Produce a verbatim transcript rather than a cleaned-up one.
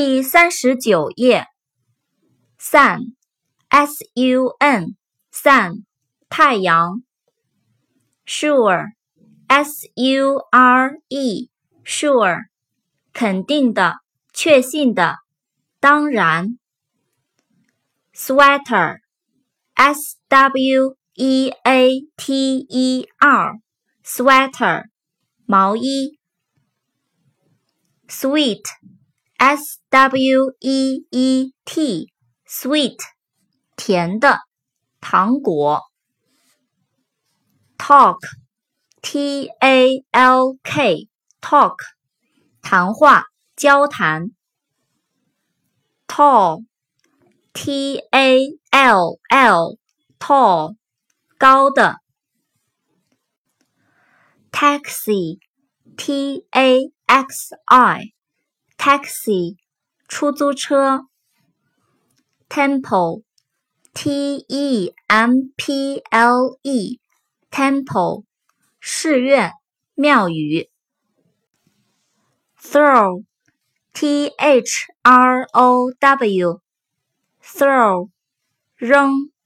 第三十九页 Sun S U N Sun 太阳 Sure S U R E Sure 肯定的确信的当然 Sweater S W E A T E R Sweater 毛衣 Sweet S W E E T Sweet 甜的糖果 Talk T A L K Talk 谈话交谈 Tall T A L L Tall 高的 Taxi T A X I Taxi 出租车 Temple T E M P L E Temple 寺院庙宇 Throw T H R O W Throw 扔